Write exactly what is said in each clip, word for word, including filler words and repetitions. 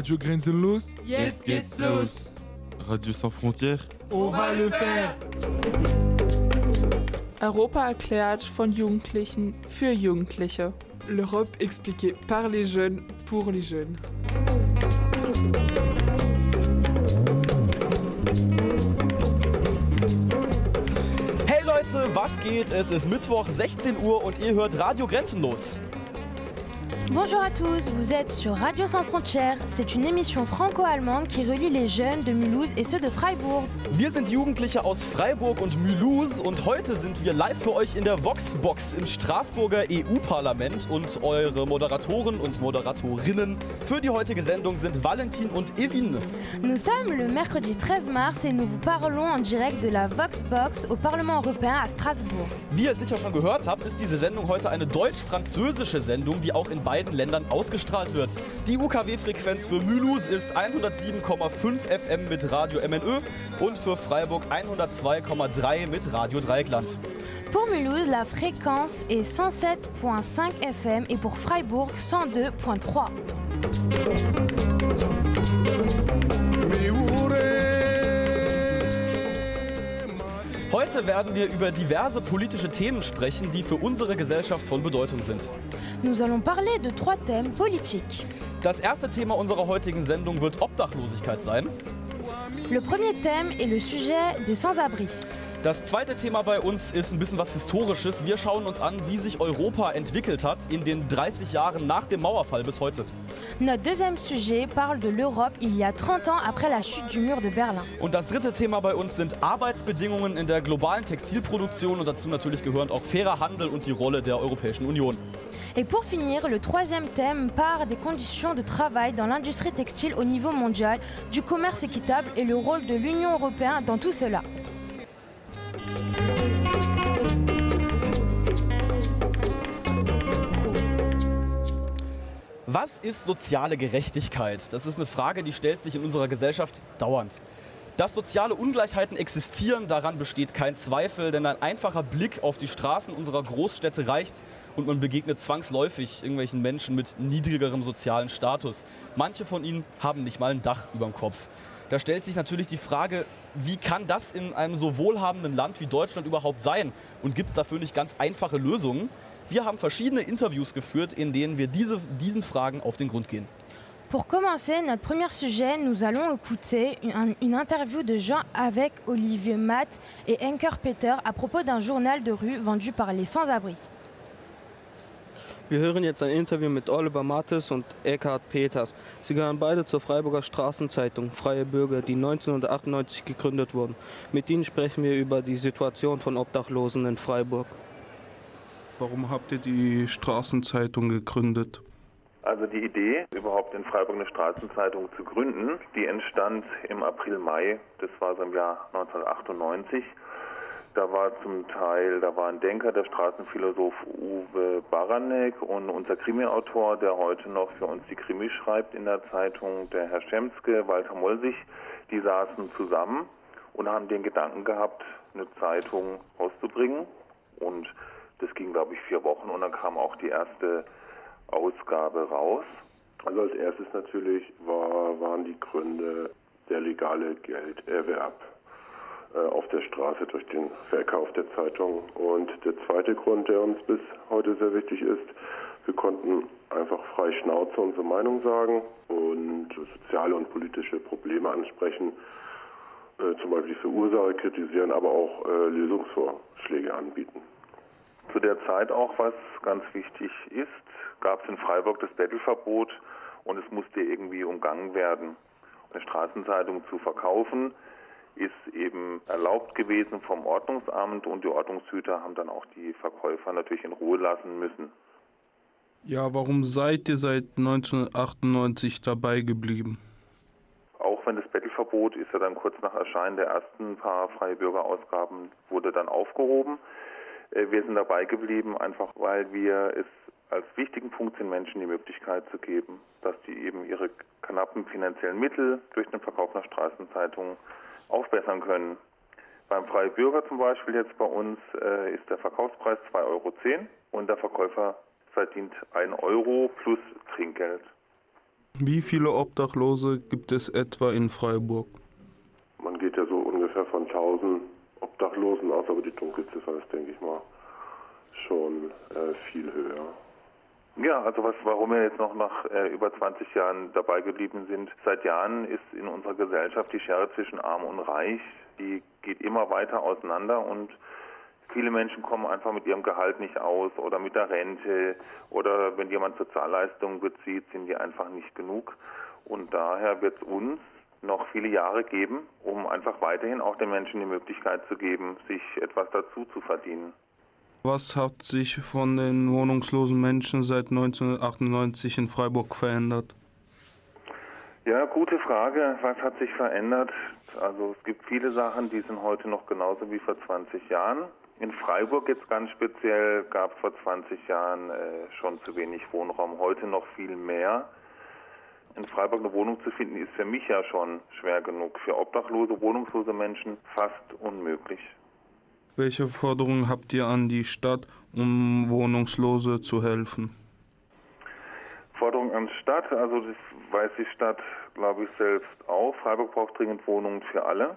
Radio Grenzenlos. Jetzt geht's los. Radio Sans Frontières. On va le faire. Europa erklärt von Jugendlichen für Jugendliche. L'Europe expliquée par les jeunes pour les jeunes. Hey Leute, was geht? Es ist Mittwoch, sechzehn Uhr und ihr hört Radio Grenzenlos. Bonjour à tous, vous êtes sur Radio Sans Frontières. C'est une émission franco-allemande qui relie les jeunes de Mulhouse et ceux de Freiburg. Wir sind Jugendliche aus Freiburg und Mulhouse und heute sind wir live für euch in der Voxbox im Straßburger E U-Parlament und eure Moderatoren und Moderatorinnen für die heutige Sendung sind Valentin und Evin. Nous sommes le mercredi treize mars et nous vous parlons en direct de la Voxbox au Parlement européen à Strasbourg. Wie ihr sicher schon gehört habt, ist diese Sendung heute eine deutsch-französische Sendung, die auch in beiden Ländern ausgestrahlt wird. Die U K W-Frequenz für Mulhouse ist hundertsieben Komma fünf F M mit Radio M N Ö und für Freiburg hundertzwei Komma drei mit Radio Dreieckland. Pour Mulhouse, la fréquence est cent sept Komma fünf F M et pour Freiburg cent deux Komma drei. Heute werden wir über diverse politische Themen sprechen, die für unsere Gesellschaft von Bedeutung sind. Nous allons parler de trois thèmes politiques. Das erste Thema unserer heutigen Sendung wird Obdachlosigkeit sein. Le premier thème est le sujet des sans-abri. Das zweite Thema bei uns ist ein bisschen was Historisches. Wir schauen uns an, wie sich Europa entwickelt hat in den dreißig Jahren nach dem Mauerfall bis heute. Notre deuxième sujet parle de l'Europe il y a trente ans après la chute du mur de Berlin. Und das dritte Thema bei uns sind Arbeitsbedingungen in der globalen Textilproduktion und dazu natürlich gehören auch fairer Handel und die Rolle der Europäischen Union. Et pour finir, le troisième thème parle des conditions de travail dans l'industrie textile au niveau mondial, du commerce équitable et le rôle de l'Union européenne dans tout cela. Was ist soziale Gerechtigkeit? Das ist eine Frage, die stellt sich in unserer Gesellschaft dauernd. Dass soziale Ungleichheiten existieren, daran besteht kein Zweifel, denn ein einfacher Blick auf die Straßen unserer Großstädte reicht und man begegnet zwangsläufig irgendwelchen Menschen mit niedrigerem sozialen Status. Manche von ihnen haben nicht mal ein Dach über dem Kopf. Da stellt sich natürlich die Frage, wie kann das in einem so wohlhabenden Land wie Deutschland überhaupt sein? Und gibt es dafür nicht ganz einfache Lösungen? Wir haben verschiedene Interviews geführt, in denen wir diese, diesen Fragen auf den Grund gehen. Pour commencer notre premier sujet, nous allons écouter une, une interview de Jean avec Olivier Matt et Henker Peter à propos d'un journal de rue vendu par les sans-abri. Wir hören jetzt ein Interview mit Oliver Mattes und Eckhard Peters. Sie gehören beide zur Freiburger Straßenzeitung Freie Bürger, die neunzehnhundertachtundneunzig gegründet wurden. Mit ihnen sprechen wir über die Situation von Obdachlosen in Freiburg. Warum habt ihr die Straßenzeitung gegründet? Also die Idee, überhaupt in Freiburg eine Straßenzeitung zu gründen, die entstand im April, Mai, das war so im Jahr neunzehnhundertachtundneunzig. Da war zum Teil, da war ein Denker, der Straßenphilosoph Uwe Baranek und unser Krimi-Autor, der heute noch für uns die Krimi schreibt in der Zeitung, der Herr Schemske, Walter Molsig, die saßen zusammen und haben den Gedanken gehabt, eine Zeitung rauszubringen. Und das ging, glaube ich, vier Wochen und dann kam auch die erste Ausgabe raus. Also als erstes natürlich war, waren die Gründe der legale Gelderwerb äh, auf der Straße durch den Verkauf der Zeitung. Und der zweite Grund, der uns bis heute sehr wichtig ist, wir konnten einfach frei Schnauze unsere Meinung sagen und soziale und politische Probleme ansprechen, äh, zum Beispiel für Ursache kritisieren, aber auch äh, Lösungsvorschläge anbieten. Zu der Zeit auch, was ganz wichtig ist, gab es in Freiburg das Bettelverbot und es musste irgendwie umgangen werden. Eine Straßenzeitung zu verkaufen ist eben erlaubt gewesen vom Ordnungsamt und die Ordnungshüter haben dann auch die Verkäufer natürlich in Ruhe lassen müssen. Ja, warum seid ihr seit neunzehnhundertachtundneunzig dabei geblieben? Auch wenn das Bettelverbot ist ja dann kurz nach Erscheinen der ersten paar Freie Bürgerausgaben wurde dann aufgehoben. Wir sind dabei geblieben, einfach weil wir es als wichtigen Punkt den Menschen die Möglichkeit zu geben, dass die eben ihre knappen finanziellen Mittel durch den Verkauf einer Straßenzeitung aufbessern können. Beim Freie Bürger zum Beispiel jetzt bei uns äh, ist der Verkaufspreis zwei Euro zehn und der Verkäufer verdient ein Euro plus Trinkgeld. Wie viele Obdachlose gibt es etwa in Freiburg? Man geht ja so ungefähr von tausend Obdachlosen aus, aber die Dunkelziffer ist, denke ich mal, schon äh, viel höher. Ja, also was, warum wir jetzt noch nach äh, über zwanzig Jahren dabei geblieben sind. Seit Jahren ist in unserer Gesellschaft die Schere zwischen Arm und Reich, die geht immer weiter auseinander und viele Menschen kommen einfach mit ihrem Gehalt nicht aus oder mit der Rente oder wenn jemand Sozialleistungen bezieht, sind die einfach nicht genug. Und daher wird es uns noch viele Jahre geben, um einfach weiterhin auch den Menschen die Möglichkeit zu geben, sich etwas dazu zu verdienen. Was hat sich von den wohnungslosen Menschen seit neunzehnhundertachtundneunzig in Freiburg verändert? Ja, gute Frage. Was hat sich verändert? Also es gibt viele Sachen, die sind heute noch genauso wie vor zwanzig Jahren. In Freiburg jetzt ganz speziell gab es vor zwanzig Jahren äh, schon zu wenig Wohnraum, heute noch viel mehr. In Freiburg eine Wohnung zu finden, ist für mich ja schon schwer genug. Für obdachlose, wohnungslose Menschen fast unmöglich. Welche Forderungen habt ihr an die Stadt, um Wohnungslose zu helfen? Forderungen an die Stadt, also das weiß die Stadt, glaube ich, selbst auch. Freiburg braucht dringend Wohnungen für alle.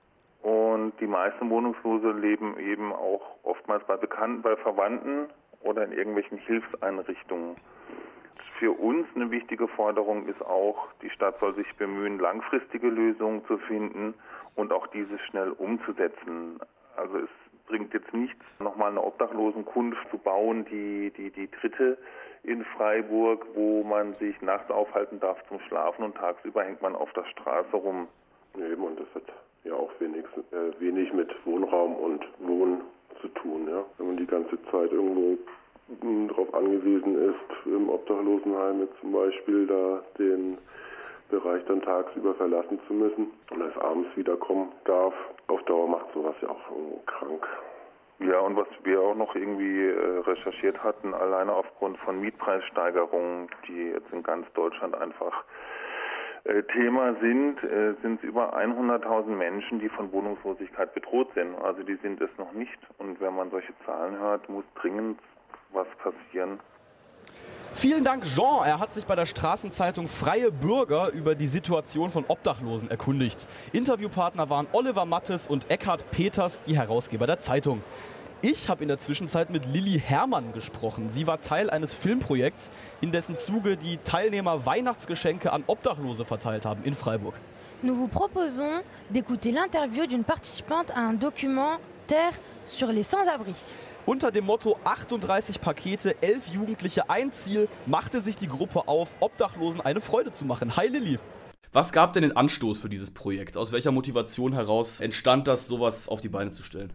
Und die meisten Wohnungslose leben eben auch oftmals bei Bekannten, bei Verwandten oder in irgendwelchen Hilfseinrichtungen. Für uns eine wichtige Forderung ist auch, die Stadt soll sich bemühen, langfristige Lösungen zu finden und auch diese schnell umzusetzen. Also es bringt jetzt nichts, nochmal eine Obdachlosenkunft zu bauen, die, die, die dritte in Freiburg, wo man sich nachts aufhalten darf zum Schlafen und tagsüber hängt man auf der Straße rum. Eben, und das hat ja auch wenig, äh, wenig mit Wohnraum und Wohnen zu tun. Ja? Wenn man die ganze Zeit irgendwo darauf angewiesen ist, im Obdachlosenheim jetzt zum Beispiel da den Bereich dann tagsüber verlassen zu müssen und erst abends wiederkommen darf. Auf Dauer macht sowas ja auch irgendwo krank. Ja, und was wir auch noch irgendwie äh, recherchiert hatten, alleine aufgrund von Mietpreissteigerungen, die jetzt in ganz Deutschland einfach äh, Thema sind, äh, sind es über hunderttausend Menschen, die von Wohnungslosigkeit bedroht sind. Also die sind es noch nicht. Und wenn man solche Zahlen hört, muss dringend was passieren. Vielen Dank, Jean. Er hat sich bei der Straßenzeitung Freie Bürger über die Situation von Obdachlosen erkundigt. Interviewpartner waren Oliver Mattes und Eckhard Peters, die Herausgeber der Zeitung. Ich habe in der Zwischenzeit mit Lilly Herrmann gesprochen. Sie war Teil eines Filmprojekts, in dessen Zuge die Teilnehmer Weihnachtsgeschenke an Obdachlose verteilt haben in Freiburg. Nous vous proposons d'écouter l'interview d'une participante à un documentaire sur les Sans-Abri. Unter dem Motto achtunddreißig Pakete, elf Jugendliche, ein Ziel, machte sich die Gruppe auf, Obdachlosen eine Freude zu machen. Hi Lilly. Was gab denn den Anstoß für dieses Projekt? Aus welcher Motivation heraus entstand das, sowas auf die Beine zu stellen?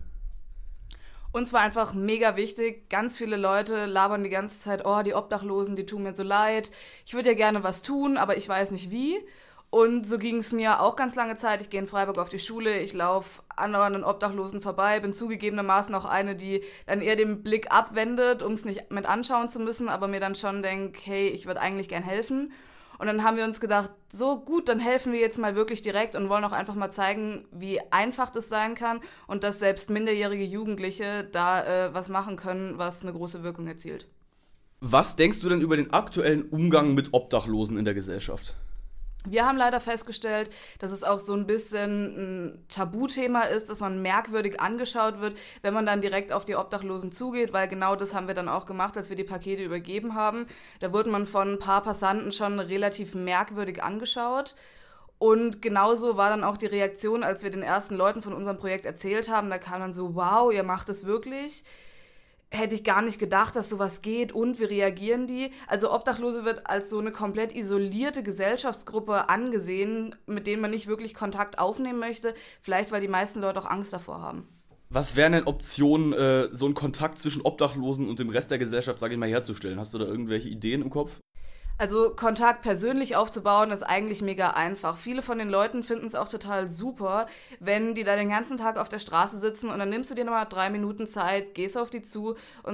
Uns war einfach mega wichtig. Ganz viele Leute labern die ganze Zeit, oh, die Obdachlosen, die tun mir so leid. Ich würde ja gerne was tun, aber ich weiß nicht wie. Und so ging es mir auch ganz lange Zeit. Ich gehe in Freiburg auf die Schule, ich laufe anderen Obdachlosen vorbei, bin zugegebenermaßen auch eine, die dann eher den Blick abwendet, um es nicht mit anschauen zu müssen, aber mir dann schon denkt, hey, ich würde eigentlich gern helfen. Und dann haben wir uns gedacht, so gut, dann helfen wir jetzt mal wirklich direkt und wollen auch einfach mal zeigen, wie einfach das sein kann und dass selbst minderjährige Jugendliche da äh, was machen können, was eine große Wirkung erzielt. Was denkst du denn über den aktuellen Umgang mit Obdachlosen in der Gesellschaft? Wir haben leider festgestellt, dass es auch so ein bisschen ein Tabuthema ist, dass man merkwürdig angeschaut wird, wenn man dann direkt auf die Obdachlosen zugeht, weil genau das haben wir dann auch gemacht, als wir die Pakete übergeben haben. Da wurde man von ein paar Passanten schon relativ merkwürdig angeschaut. Und genauso war dann auch die Reaktion, als wir den ersten Leuten von unserem Projekt erzählt haben. Da kam dann so, wow, ihr macht es wirklich? Hätte ich gar nicht gedacht, dass sowas geht und wie reagieren die? Also Obdachlose wird als so eine komplett isolierte Gesellschaftsgruppe angesehen, mit denen man nicht wirklich Kontakt aufnehmen möchte, vielleicht weil die meisten Leute auch Angst davor haben. Was wären denn Optionen, äh, so einen Kontakt zwischen Obdachlosen und dem Rest der Gesellschaft, sage ich mal, herzustellen? Hast du da irgendwelche Ideen im Kopf? Also Kontakt persönlich aufzubauen ist eigentlich mega einfach. Viele von den Leuten finden es auch total super, wenn die da den ganzen Tag auf der Straße sitzen und dann nimmst du dir nochmal drei Minuten Zeit, gehst auf die zu und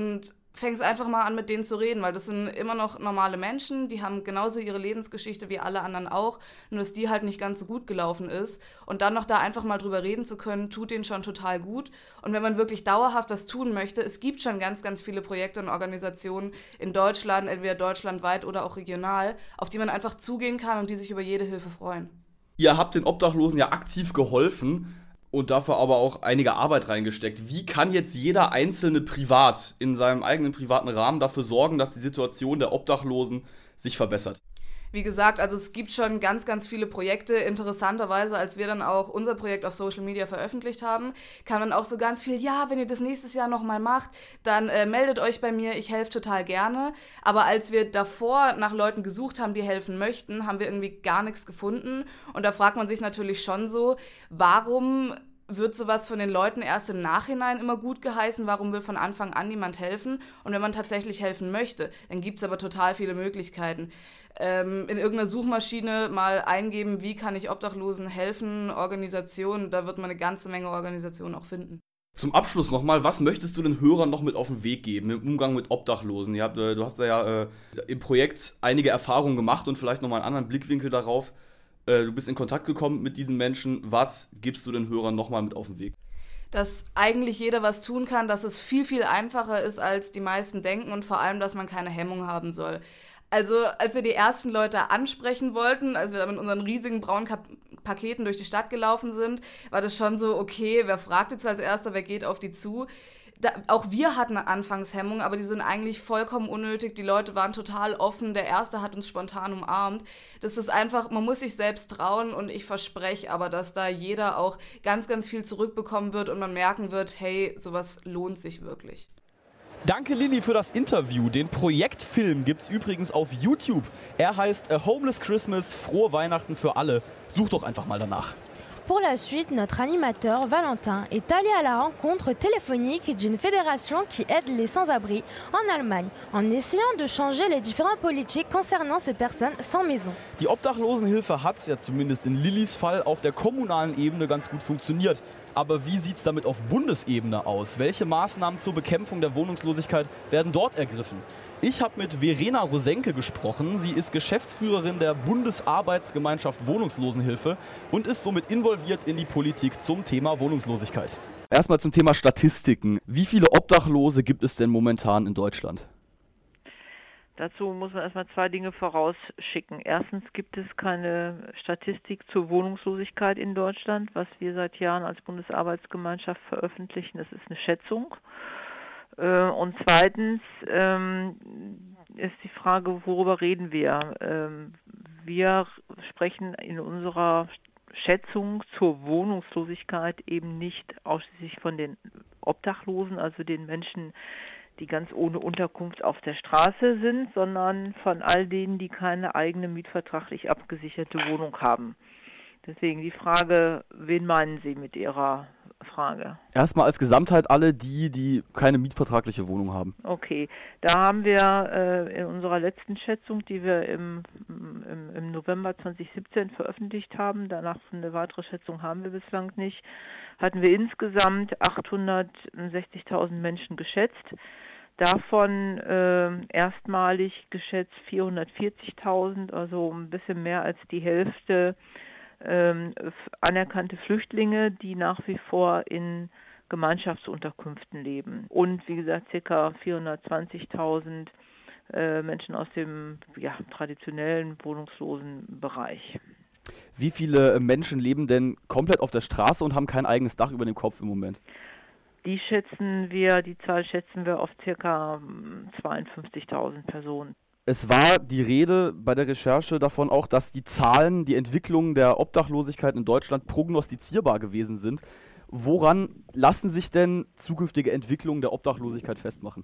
fängst einfach mal an, mit denen zu reden, weil das sind immer noch normale Menschen, die haben genauso ihre Lebensgeschichte wie alle anderen auch, nur dass die halt nicht ganz so gut gelaufen ist. Und dann noch da einfach mal drüber reden zu können, tut denen schon total gut. Und wenn man wirklich dauerhaft das tun möchte, es gibt schon ganz, ganz viele Projekte und Organisationen in Deutschland, entweder deutschlandweit oder auch regional, auf die man einfach zugehen kann und die sich über jede Hilfe freuen. Ihr habt den Obdachlosen ja aktiv geholfen und dafür aber auch einige Arbeit reingesteckt. Wie kann jetzt jeder Einzelne privat in seinem eigenen privaten Rahmen dafür sorgen, dass die Situation der Obdachlosen sich verbessert? Wie gesagt, also es gibt schon ganz, ganz viele Projekte. Interessanterweise, als wir dann auch unser Projekt auf Social Media veröffentlicht haben, kam dann auch so ganz viel, ja, wenn ihr das nächstes Jahr nochmal macht, dann äh, meldet euch bei mir, ich helfe total gerne. Aber als wir davor nach Leuten gesucht haben, die helfen möchten, haben wir irgendwie gar nichts gefunden. Und da fragt man sich natürlich schon so, warum wird sowas von den Leuten erst im Nachhinein immer gut geheißen? Warum will von Anfang an niemand helfen? Und wenn man tatsächlich helfen möchte, dann gibt es aber total viele Möglichkeiten. Ähm, in irgendeiner Suchmaschine mal eingeben, wie kann ich Obdachlosen helfen, Organisationen, da wird man eine ganze Menge Organisationen auch finden. Zum Abschluss nochmal, was möchtest du den Hörern noch mit auf den Weg geben im Umgang mit Obdachlosen? Ihr habt, äh, du hast ja äh, im Projekt einige Erfahrungen gemacht und vielleicht nochmal einen anderen Blickwinkel darauf. Äh, du bist in Kontakt gekommen mit diesen Menschen. Was gibst du den Hörern nochmal mit auf den Weg? Dass eigentlich jeder was tun kann, dass es viel, viel einfacher ist, als die meisten denken und vor allem, dass man keine Hemmung haben soll. Also, als wir die ersten Leute ansprechen wollten, als wir da mit unseren riesigen braunen Kap- Paketen durch die Stadt gelaufen sind, war das schon so, okay, wer fragt jetzt als Erster, wer geht auf die zu? Da, auch wir hatten Anfangshemmungen, aber die sind eigentlich vollkommen unnötig. Die Leute waren total offen, der Erste hat uns spontan umarmt. Das ist einfach, man muss sich selbst trauen und ich verspreche aber, dass da jeder auch ganz, ganz viel zurückbekommen wird und man merken wird, hey, sowas lohnt sich wirklich. Danke Lilly für das Interview. Den Projektfilm gibt's übrigens auf YouTube. Er heißt A Homeless Christmas, frohe Weihnachten für alle. Such doch einfach mal danach. Pour la suite, notre animateur Valentin est allé à la rencontre téléphonique d'une fédération qui aide les sans-abri en Allemagne, en essayant de changer les différentes politiques concernant ces personnes sans maison. Die Obdachlosenhilfe hat, ja zumindest in Lillys Fall, auf der kommunalen Ebene ganz gut funktioniert. Aber wie sieht's damit auf Bundesebene aus? Welche Maßnahmen zur Bekämpfung der Wohnungslosigkeit werden dort ergriffen? Ich habe mit Verena Rosenke gesprochen. Sie ist Geschäftsführerin der Bundesarbeitsgemeinschaft Wohnungslosenhilfe und ist somit involviert in die Politik zum Thema Wohnungslosigkeit. Erstmal zum Thema Statistiken. Wie viele Obdachlose gibt es denn momentan in Deutschland? Dazu muss man erstmal zwei Dinge vorausschicken. Erstens gibt es keine Statistik zur Wohnungslosigkeit in Deutschland, was wir seit Jahren als Bundesarbeitsgemeinschaft veröffentlichen. Das ist eine Schätzung. Und zweitens ähm, ist die Frage, worüber reden wir? Ähm, wir sprechen in unserer Schätzung zur Wohnungslosigkeit eben nicht ausschließlich von den Obdachlosen, also den Menschen, die ganz ohne Unterkunft auf der Straße sind, sondern von all denen, die keine eigene mietvertraglich abgesicherte Wohnung haben. Deswegen die Frage, wen meinen Sie mit Ihrer Frage? Erstmal als Gesamtheit alle die, die keine mietvertragliche Wohnung haben. Okay, da haben wir äh, in unserer letzten Schätzung, die wir im, im, im November zwanzig siebzehn veröffentlicht haben, danach eine weitere Schätzung haben wir bislang nicht, hatten wir insgesamt achthundertsechzigtausend Menschen geschätzt. Davon äh, erstmalig geschätzt vierhundertvierzigtausend, also ein bisschen mehr als die Hälfte ähm, anerkannte Flüchtlinge, die nach wie vor in Gemeinschaftsunterkünften leben. Und wie gesagt, ca. vierhundertzwanzigtausend äh, Menschen aus dem ja, traditionellen wohnungslosen Bereich. Wie viele Menschen leben denn komplett auf der Straße und haben kein eigenes Dach über dem Kopf im Moment? Die schätzen wir, die Zahl schätzen wir auf ca. zweiundfünfzigtausend Personen. Es war die Rede bei der Recherche davon auch, dass die Zahlen, die Entwicklung der Obdachlosigkeit in Deutschland prognostizierbar gewesen sind. Woran lassen sich denn zukünftige Entwicklungen der Obdachlosigkeit festmachen?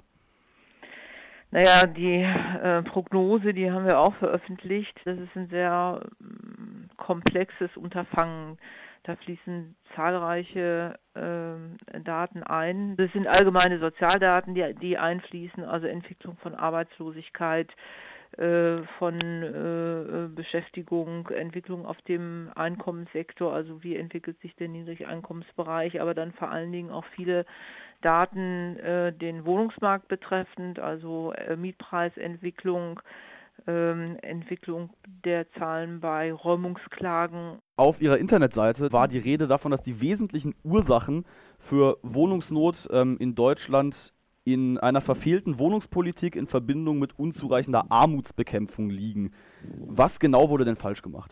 Naja, die äh, Prognose, die haben wir auch veröffentlicht. Das ist ein sehr ähm, komplexes Unterfangen. Da fließen zahlreiche äh, Daten ein. Das sind allgemeine Sozialdaten, die, die einfließen, also Entwicklung von Arbeitslosigkeit, äh, von äh, Beschäftigung, Entwicklung auf dem Einkommenssektor, also wie entwickelt sich der Niedrigeinkommensbereich, aber dann vor allen Dingen auch viele Daten äh, den Wohnungsmarkt betreffend, also äh, Mietpreisentwicklung, ähm, Entwicklung der Zahlen bei Räumungsklagen. Auf ihrer Internetseite war die Rede davon, dass die wesentlichen Ursachen für Wohnungsnot ähm, in Deutschland in einer verfehlten Wohnungspolitik in Verbindung mit unzureichender Armutsbekämpfung liegen. Was genau wurde denn falsch gemacht?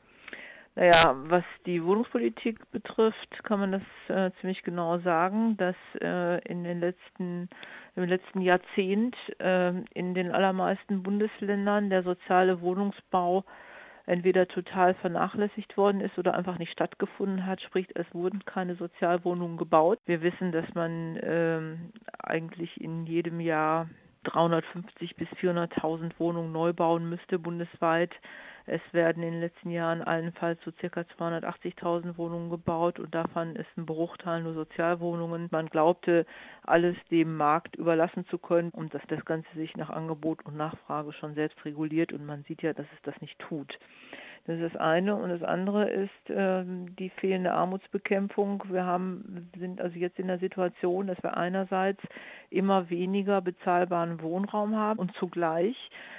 Naja, was die Wohnungspolitik betrifft, kann man das äh, ziemlich genau sagen, dass äh, in den letzten, im letzten Jahrzehnt äh, in den allermeisten Bundesländern der soziale Wohnungsbau entweder total vernachlässigt worden ist oder einfach nicht stattgefunden hat, sprich es wurden keine Sozialwohnungen gebaut. Wir wissen, dass man ähm, eigentlich in jedem Jahr dreihundertfünfzig bis vierhunderttausend Wohnungen neu bauen müsste bundesweit. Es werden in den letzten Jahren allenfalls so circa zweihundertachtzigtausend Wohnungen gebaut und davon ist ein Bruchteil nur Sozialwohnungen. Man glaubte, alles dem Markt überlassen zu können und dass das Ganze sich nach Angebot und Nachfrage schon selbst reguliert und man sieht ja, dass es das nicht tut. Das ist das eine und das andere ist äh, die fehlende Armutsbekämpfung. Wir haben, sind also jetzt in der Situation, dass wir einerseits immer weniger bezahlbaren Wohnraum haben und zugleich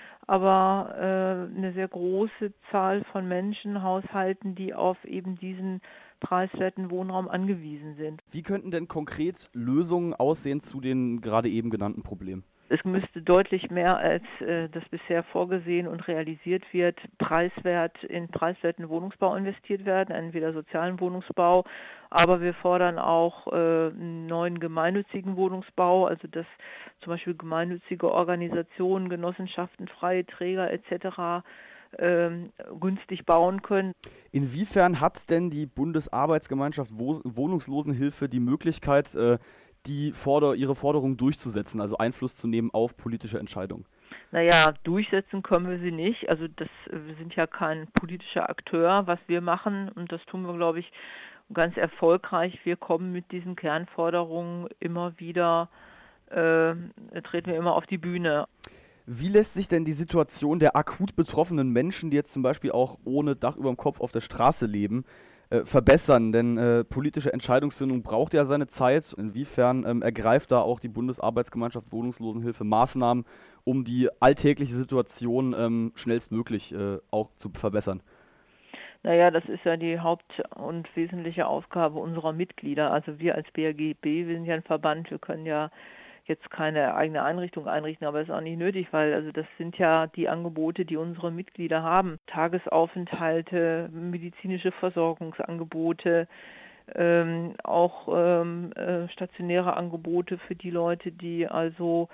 aber äh, eine sehr große Zahl von Menschen, Haushalten, die auf eben diesen preiswerten Wohnraum angewiesen sind. Wie könnten denn konkret Lösungen aussehen zu den gerade eben genannten Problemen? Es müsste deutlich mehr, als äh, das bisher vorgesehen und realisiert wird, preiswert in preiswerten Wohnungsbau investiert werden, entweder sozialen Wohnungsbau, aber wir fordern auch äh, einen neuen gemeinnützigen Wohnungsbau, also dass zum Beispiel gemeinnützige Organisationen, Genossenschaften, freie Träger et cetera ähm, günstig bauen können. Inwiefern hat denn die Bundesarbeitsgemeinschaft Wo- Wohnungslosenhilfe die Möglichkeit, äh, die Forder- ihre Forderungen durchzusetzen, also Einfluss zu nehmen auf politische Entscheidungen? Naja, durchsetzen können wir sie nicht. Also das, wir sind ja kein politischer Akteur. Was wir machen, und das tun wir, glaube ich, ganz erfolgreich, wir kommen mit diesen Kernforderungen immer wieder, äh, treten wir immer auf die Bühne. Wie lässt sich denn die Situation der akut betroffenen Menschen, die jetzt zum Beispiel auch ohne Dach über dem Kopf auf der Straße leben, Äh, verbessern, denn äh, politische Entscheidungsfindung braucht ja seine Zeit. Inwiefern ähm, ergreift da auch die Bundesarbeitsgemeinschaft Wohnungslosenhilfe Maßnahmen, um die alltägliche Situation ähm, schnellstmöglich äh, auch zu verbessern? Naja, das ist ja die Haupt- und wesentliche Aufgabe unserer Mitglieder. Also wir als B A G B, wir sind ja ein Verband, wir können ja jetzt keine eigene Einrichtung einrichten, aber das ist auch nicht nötig, weil also das sind ja die Angebote, die unsere Mitglieder haben. Tagesaufenthalte, medizinische Versorgungsangebote, ähm, auch ähm, äh, stationäre Angebote für die Leute, die also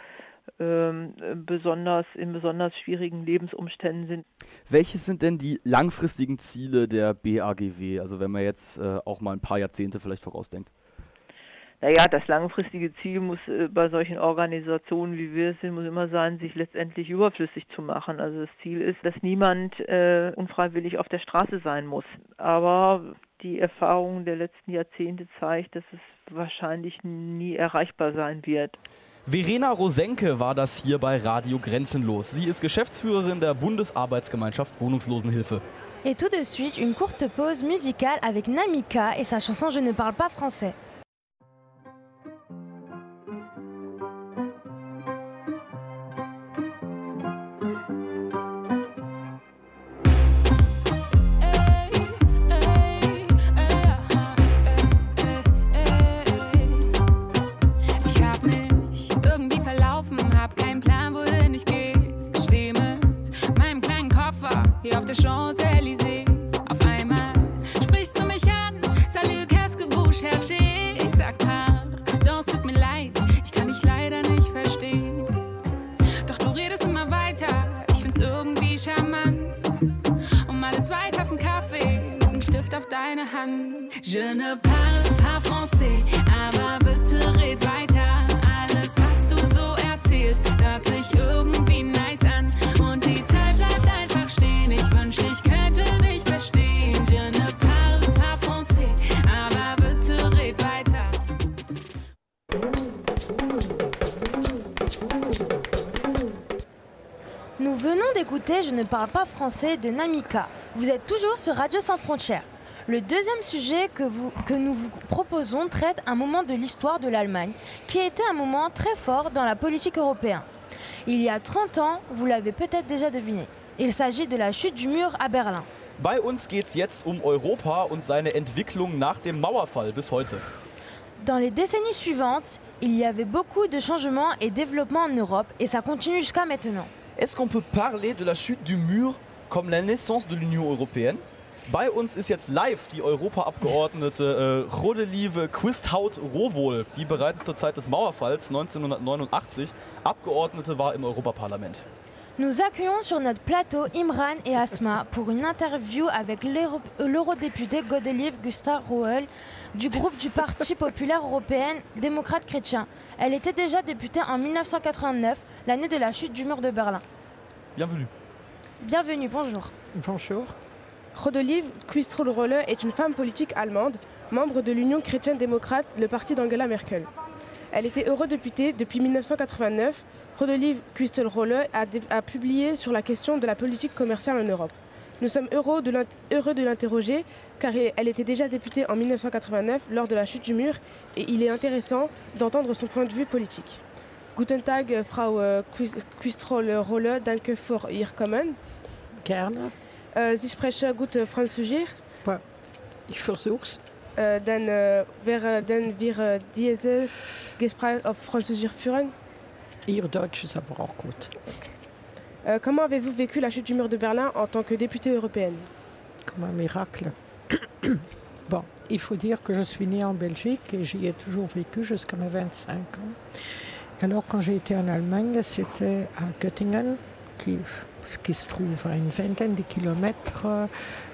ähm, besonders in besonders schwierigen Lebensumständen sind. Welches sind denn die langfristigen Ziele der B A G W, also wenn man jetzt äh, auch mal ein paar Jahrzehnte vielleicht vorausdenkt? Naja, das langfristige Ziel muss äh, bei solchen Organisationen, wie wir es sind, muss immer sein, sich letztendlich überflüssig zu machen. Also das Ziel ist, dass niemand äh, unfreiwillig auf der Straße sein muss. Aber die Erfahrung der letzten Jahrzehnte zeigt, dass es wahrscheinlich nie erreichbar sein wird. Verena Rosenke war das hier bei Radio Grenzenlos. Sie ist Geschäftsführerin der Bundesarbeitsgemeinschaft Wohnungslosenhilfe. Et tout de suite, une courte pause musicale avec Namika et sa chanson Je ne parle pas français. Hier auf der Champs-Élysées. Auf einmal sprichst du mich an. Salut, qu'est-ce que vous cherchez? Ich sag pardon, es tut mir leid. Ich kann dich leider nicht verstehen. Doch du redest immer weiter. Ich find's irgendwie charmant. Um alle zwei Tassen Kaffee mit einem Stift auf deine Hand. Je ne parle pas français, aber bitte red weiter. Alles, was du so erzählst, hört sich irgendwie nice an. Und die Zeit bleibt einfach stehen. Ich wünschte, ich könnte dich verstehen. Je ne parle pas français, aber bitte red weiter. Nous venons d'écouter écoutez Je ne parle pas français de Namika. Vous êtes toujours sur Radio Sans Frontières. Le deuxième sujet que, vous, que nous vous proposons traite un moment de l'histoire de l'Allemagne, qui a été un moment très fort dans la politique européenne. Il y a trente ans, vous l'avez peut-être déjà deviné, il s'agit de la chute du mur à Berlin. Bei uns geht es jetzt um Europa und seine Entwicklung nach dem Mauerfall bis heute. Dans les décennies suivantes, il y avait beaucoup de changements et développements en Europe et ça continue jusqu'à maintenant. Est-ce qu'on peut parler de la chute du mur comme la naissance de l'Union européenne? Bei uns ist jetzt live die Europaabgeordnete äh, Rodelieve Quisthout-Rowohl, die bereits zur Zeit des Mauerfalls neunzehnhundertneunundachtzig Abgeordnete war im Europaparlament. Nous accueillons sur notre plateau Imran et Asma pour une interview avec l'euro- l'eurodéputé Godelieve Quisthout-Rowohl du groupe du Parti populaire européen démocrate chrétien. Elle était déjà députée en mille neuf cent quatre-vingt-neuf, l'année de la chute du mur de Berlin. Bienvenue. Bienvenue, bonjour. Bonjour. Rodelieve Quisthout-Rowohl est une femme politique allemande, membre de l'Union chrétienne-démocrate, le parti d'Angela Merkel. Elle était eurodéputée depuis mille neuf cent quatre-vingt-neuf. Rodelieve Quisthout-Rowohl a, dé- a publié sur la question de la politique commerciale en Europe. Nous sommes heureux de, l'int- heureux de l'interroger car elle était déjà députée en mille neuf cent quatre-vingt-neuf lors de la chute du mur et il est intéressant d'entendre son point de vue politique. Guten Tag, Frau Quisthout-Rowohl, danke für Ihr Kommen. Gerne. Äh, Sie sprechen gut Französisch? Ich versuch's. Äh, dann äh, werden wir äh, dieses Gespräch auf Französisch führen. Ihr Deutsch ist aber auch gut. Euh, comment avez-vous vécu la chute du mur de Berlin en tant que députée européenne? Comme un miracle. Bon, il faut dire que je suis née en Belgique et j'y ai toujours vécu jusqu'à mes vingt-cinq ans. Alors quand j'ai été en Allemagne, c'était à Göttingen, qui, qui se trouve à une vingtaine de kilomètres euh,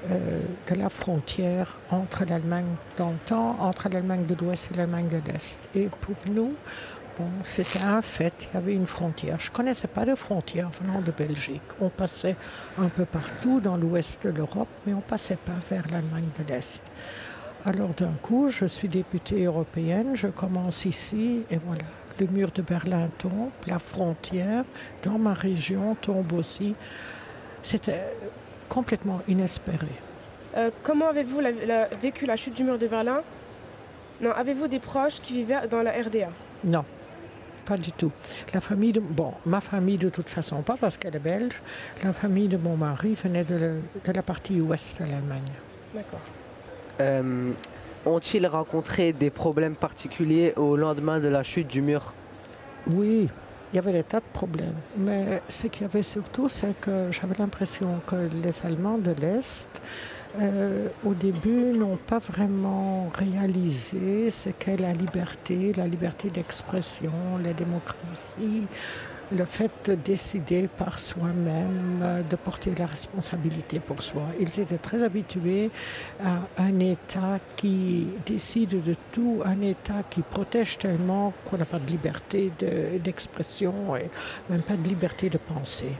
de la frontière entre l'Allemagne dans le temps, entre l'Allemagne de l'Ouest et l'Allemagne de l'Est. Et pour nous, bon, c'était un fait, il y avait une frontière. Je ne connaissais pas de frontière venant de Belgique. On passait un peu partout dans l'ouest de l'Europe, mais on ne passait pas vers l'Allemagne de l'Est. Alors d'un coup, je suis députée européenne, je commence ici et voilà. Le mur de Berlin tombe, la frontière dans ma région tombe aussi. C'était complètement inespéré. Euh, comment avez-vous la, la, vécu la chute du mur de Berlin? Non, avez-vous des proches qui vivaient dans la R D A? Non. Pas du tout. La famille de, bon, ma famille de toute façon pas parce qu'elle est belge. La famille de mon mari venait de, le, de la partie ouest de l'Allemagne. D'accord. Euh, ont-ils rencontré des problèmes particuliers au lendemain de la chute du mur? Oui, il y avait des tas de problèmes. Mais ce qu'il y avait surtout, c'est que j'avais l'impression que les Allemands de l'Est, Euh, au début, n'ont pas vraiment réalisé ce qu'est la liberté, la liberté d'expression, la démocratie, le fait de décider par soi-même, de porter la responsabilité pour soi. Ils étaient très habitués à un État qui décide de tout, un État qui protège tellement qu'on n'a pas de liberté de, d'expression et même pas de liberté de penser.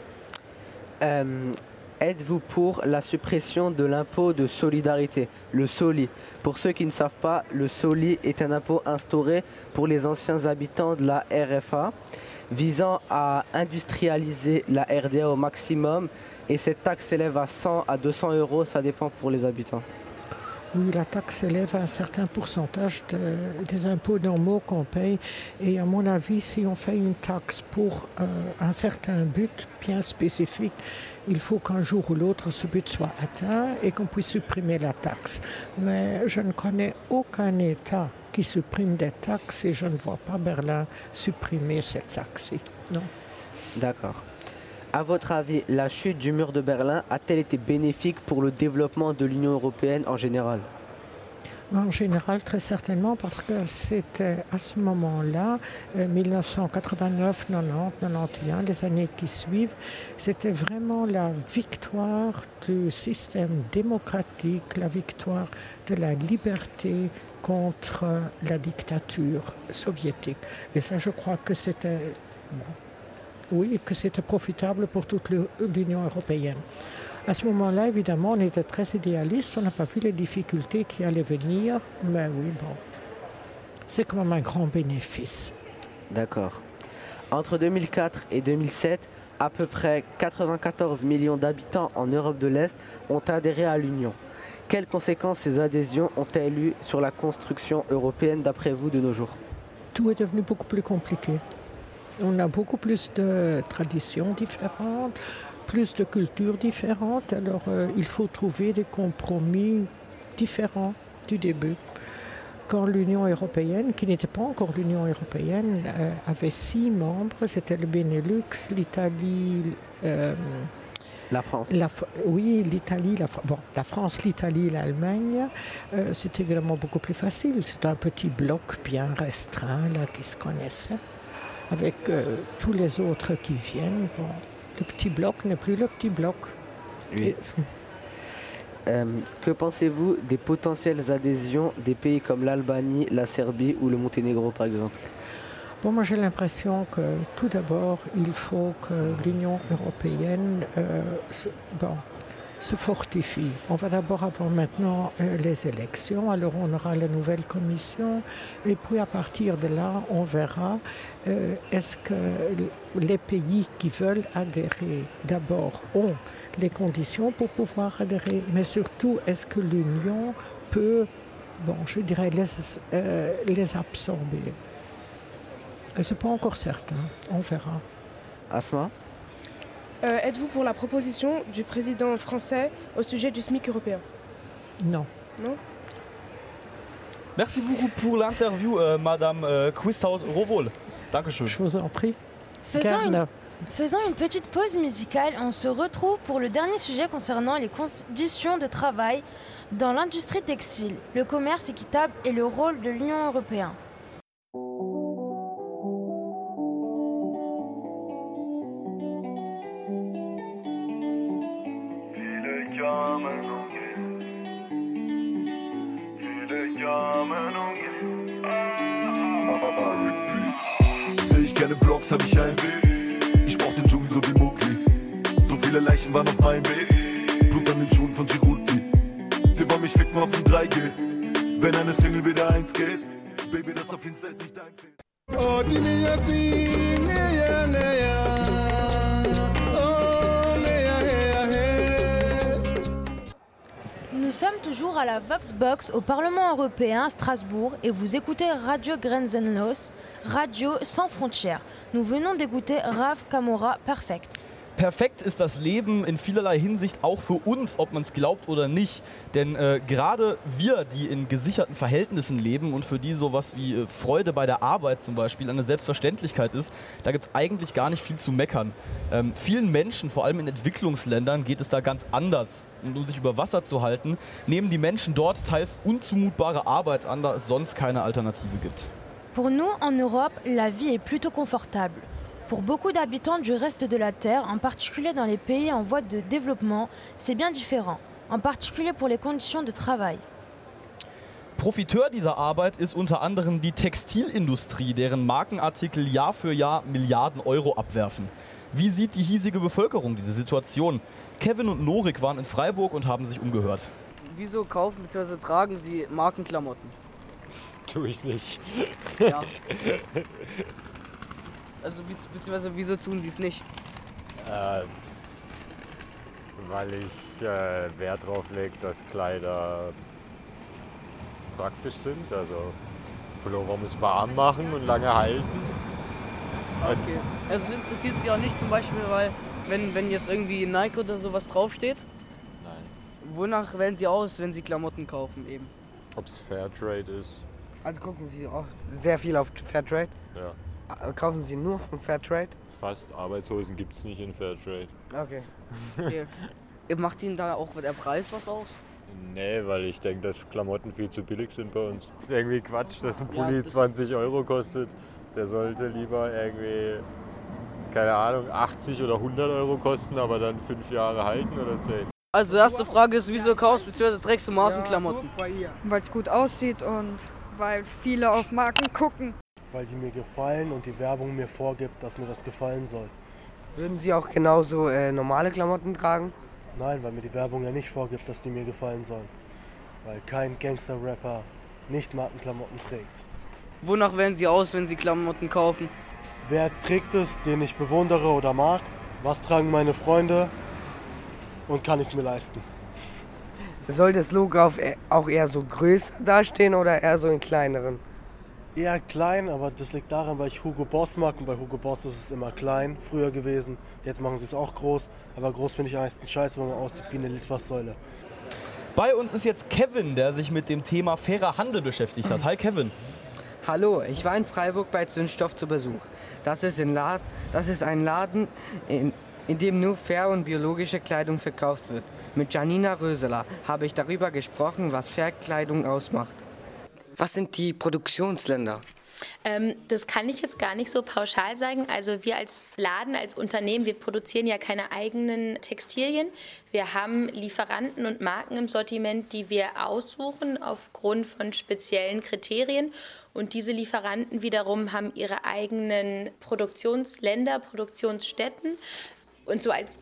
Euh... Êtes-vous pour la suppression de l'impôt de solidarité, le SOLI? Pour ceux qui ne savent pas, le SOLI est un impôt instauré pour les anciens habitants de la R F A, visant à industrialiser la R D A au maximum. Et cette taxe s'élève à cent à deux cents euros, ça dépend pour les habitants. Oui, la taxe s'élève à un certain pourcentage de, des impôts normaux qu'on paye. Et à mon avis, si on fait une taxe pour euh, un certain but bien spécifique, il faut qu'un jour ou l'autre ce but soit atteint et qu'on puisse supprimer la taxe. Mais je ne connais aucun État qui supprime des taxes et je ne vois pas Berlin supprimer cette taxe-ci. Non. D'accord. À votre avis, la chute du mur de Berlin a-t-elle été bénéfique pour le développement de l'Union européenne en général? En général, très certainement, parce que c'était à ce moment-là, euh, mille neuf cent quatre-vingt-neuf, quatre-vingt-dix, quatre-vingt-onze, les années qui suivent, c'était vraiment la victoire du système démocratique, la victoire de la liberté contre la dictature soviétique. Et ça, je crois que c'était... Bon, oui, que c'était profitable pour toute l'Union européenne. À ce moment-là, évidemment, on était très idéaliste, on n'a pas vu les difficultés qui allaient venir, mais oui, bon, c'est quand même un grand bénéfice. D'accord. Entre deux mille quatre et deux mille sept, à peu près quatre-vingt-quatorze millions d'habitants en Europe de l'Est ont adhéré à l'Union. Quelles conséquences ces adhésions ont-elles eues sur la construction européenne d'après vous de nos jours? Tout est devenu beaucoup plus compliqué. On a beaucoup plus de traditions différentes, plus de cultures différentes, alors euh, il faut trouver des compromis différents du début. Quand l'Union européenne, qui n'était pas encore l'Union européenne, euh, avait six membres, c'était le Benelux, l'Italie, euh, la France. La, oui, l'Italie, la, bon, la France, l'Italie, l'Allemagne, euh, c'était évidemment beaucoup plus facile. C'était un petit bloc bien restreint là, qui se connaissait, avec euh, tous les autres qui viennent. Bon, le petit bloc n'est plus le petit bloc. Oui. Et, Euh, que pensez-vous des potentielles adhésions des pays comme l'Albanie, la Serbie ou le Monténégro par exemple? Bon, moi j'ai l'impression que tout d'abord il faut que l'Union européenne euh, se, bon, se fortifie. On va d'abord avoir maintenant euh, les élections, alors on aura la nouvelle commission et puis à partir de là on verra euh, est-ce que les pays qui veulent adhérer d'abord ont les conditions pour pouvoir adhérer, mais surtout est-ce que l'Union peut, bon, je dirais, les, euh, les absorber. Ce n'est pas encore certain, on verra. Asma? Euh, êtes-vous pour la proposition du président français au sujet du SMIC européen? Non. Non? Merci beaucoup pour l'interview, euh, Madame euh, Quisthout-Rowohl. Dankeschön. Je vous en prie. Faisons une, faisons une petite pause musicale. On se retrouve pour le dernier sujet concernant les conditions de travail dans l'industrie textile, le commerce équitable et le rôle de l'Union européenne. Seh ich keine Blocks, hab ich ein Bild. Ich brauch den Dschungel so wie Mowgli. So viele Leichen waren auf meinem Weg. Blut an den Schuhen von Djibouti. Sie wollen mich ficken auf dem drei G. Wenn eine Single wieder eins geht. Baby, das auf Insta ist nicht dein Fehler. Oh, die Nia sing, Nia, Nia. Oh, Nia, Nia, Nia. Nous sommes toujours à la Voxbox au Parlement européen à Strasbourg et vous écoutez Radio Grenzenlos, Radio sans frontières. Nous venons d'écouter Rav Kamora Perfekt. Perfekt ist das Leben in vielerlei Hinsicht auch für uns, ob man es glaubt oder nicht. Denn äh, gerade wir, die in gesicherten Verhältnissen leben und für die sowas wie äh, Freude bei der Arbeit zum Beispiel eine Selbstverständlichkeit ist, da gibt es eigentlich gar nicht viel zu meckern. Ähm, vielen Menschen, vor allem in Entwicklungsländern, geht es da ganz anders. Und um sich über Wasser zu halten, nehmen die Menschen dort teils unzumutbare Arbeit an, da es sonst keine Alternative gibt. Pour nous, en Europe, la vie est plutôt confortable. Pour beaucoup d'habitants du reste de la Terre, en particulier dans les pays en voie de développement, c'est bien différent, en particulier pour les conditions de travail. Profiteur dieser Arbeit ist unter anderem die Textilindustrie, deren Markenartikel Jahr für Jahr Milliarden Euro abwerfen. Wie sieht die hiesige Bevölkerung diese Situation? Kevin und Norik waren in Freiburg und haben sich umgehört. Wieso kaufen bzw. tragen Sie Markenklamotten? Tue ich nicht. Ja, das... Also beziehungsweise wieso tun Sie es nicht? Äh, weil ich äh, Wert darauf lege, dass Kleider praktisch sind. Also Pullover muss warm machen und lange halten. Okay. Also es interessiert Sie auch nicht zum Beispiel, weil wenn, wenn jetzt irgendwie Nike oder sowas draufsteht? Nein. Wonach wählen Sie aus, wenn Sie Klamotten kaufen eben? Ob es Fairtrade ist? Also gucken Sie auch sehr viel auf Fairtrade? Ja. Kaufen Sie nur von Fairtrade? Fast Arbeitshosen gibt es nicht in Fairtrade. Okay. Okay. Macht Ihnen da auch der Preis was aus? Nee, weil ich denke, dass Klamotten viel zu billig sind bei uns. Das ist irgendwie Quatsch, dass ein Pulli ja, das zwanzig Euro kostet. Der sollte lieber irgendwie, keine Ahnung, achtzig oder hundert Euro kosten, aber dann fünf Jahre halten oder zehn. Also die erste Frage ist, wieso kaufst bzw. trägst du Markenklamotten? Weil es gut aussieht und weil viele auf Marken gucken. Weil die mir gefallen und die Werbung mir vorgibt, dass mir das gefallen soll. Würden Sie auch genauso äh, normale Klamotten tragen? Nein, weil mir die Werbung ja nicht vorgibt, dass die mir gefallen sollen. Weil kein Gangster-Rapper nicht Markenklamotten trägt. Wonach wählen Sie aus, wenn Sie Klamotten kaufen? Wer trägt es, den ich bewundere oder mag? Was tragen meine Freunde und kann ich es mir leisten? Soll das Logo auf, auch eher so größer dastehen oder eher so in kleineren? Eher klein, aber das liegt daran, weil ich Hugo Boss mag und bei Hugo Boss ist es immer klein, früher gewesen. Jetzt machen sie es auch groß, aber groß finde ich am meisten scheiße, weil man aussieht wie eine Litfaßsäule. Bei uns ist jetzt Kevin, der sich mit dem Thema fairer Handel beschäftigt hat. Hi Kevin. Hallo, ich war in Freiburg bei Zündstoff zu Besuch. Das ist, in Lad- das ist ein Laden, in, in dem nur fair und biologische Kleidung verkauft wird. Mit Janina Röseler habe ich darüber gesprochen, was Fairkleidung ausmacht. Was sind die Produktionsländer? Ähm, das kann ich jetzt gar nicht so pauschal sagen. Also wir als Laden, als Unternehmen, wir produzieren ja keine eigenen Textilien. Wir haben Lieferanten und Marken im Sortiment, die wir aussuchen aufgrund von speziellen Kriterien. Und diese Lieferanten wiederum haben ihre eigenen Produktionsländer, Produktionsstätten. Und so als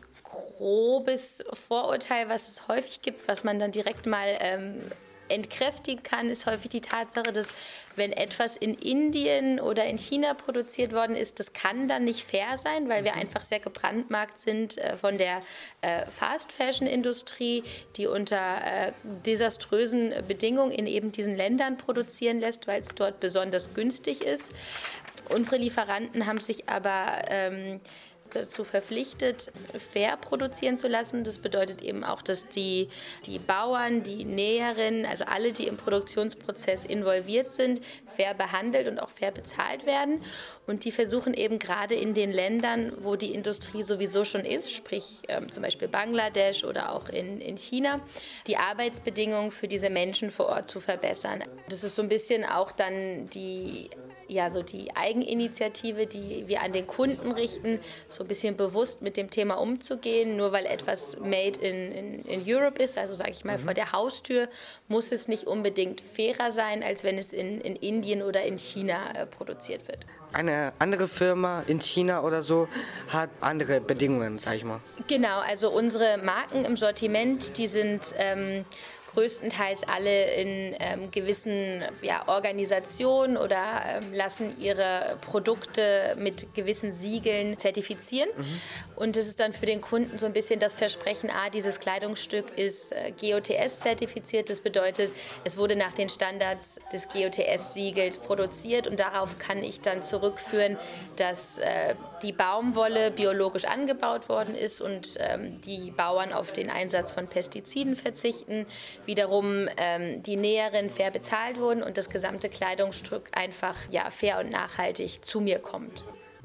grobes Vorurteil, was es häufig gibt, was man dann direkt mal ähm, entkräftigen kann, ist häufig die Tatsache, dass wenn etwas in Indien oder in China produziert worden ist, das kann dann nicht fair sein, weil wir einfach sehr gebrandmarkt sind äh, von der äh, Fast-Fashion-Industrie, die unter äh, desaströsen Bedingungen in eben diesen Ländern produzieren lässt, weil es dort besonders günstig ist. Unsere Lieferanten haben sich aber ähm, dazu verpflichtet, fair produzieren zu lassen. Das bedeutet eben auch, dass die, die Bauern, die Näherinnen, also alle, die im Produktionsprozess involviert sind, fair behandelt und auch fair bezahlt werden. Und die versuchen eben gerade in den Ländern, wo die Industrie sowieso schon ist, sprich ähm, zum Beispiel Bangladesch oder auch in, in China, die Arbeitsbedingungen für diese Menschen vor Ort zu verbessern. Das ist so ein bisschen auch dann die ja, so die Eigeninitiative, die wir an den Kunden richten, so ein bisschen bewusst mit dem Thema umzugehen. Nur weil etwas made in, in, in Europe ist, also sage ich mal mhm. vor der Haustür, muss es nicht unbedingt fairer sein, als wenn es in, in Indien oder in China äh, produziert wird. Eine andere Firma in China oder so hat andere Bedingungen, sag ich mal. Genau, also unsere Marken im Sortiment, die sind ähm, größtenteils alle in ähm, gewissen ja, Organisationen oder ähm, lassen ihre Produkte mit gewissen Siegeln zertifizieren. Mhm. Und das ist dann für den Kunden so ein bisschen das Versprechen, ah, dieses Kleidungsstück ist äh, G O T S-zertifiziert. Das bedeutet, es wurde nach den Standards des G O T S-Siegels produziert und darauf kann ich dann zurückführen, dass äh, die Baumwolle biologisch angebaut worden ist und ähm, die Bauern auf den Einsatz von Pestiziden verzichten. Wiederum ähm, die Näherinnen fair bezahlt wurden und das gesamte Kleidungsstück einfach ja, fair und nachhaltig zu mir kommt.